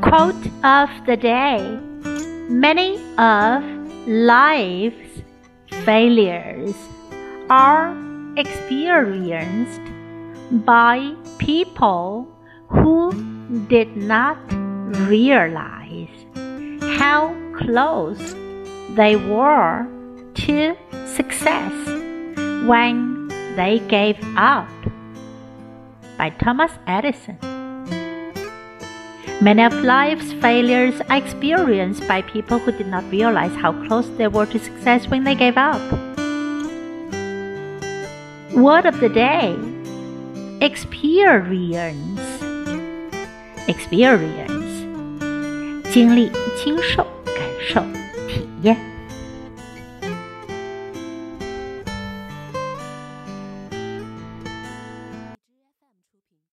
Quote of the day: Many of life's failures are experienced by people who did not realize how close they were to success when they gave up. By Thomas Edison. Many of life's failures are experienced by people who did not realize how close they were to success when they gave up. Word of the day: experience. Experience 经历、经受、感受、体验。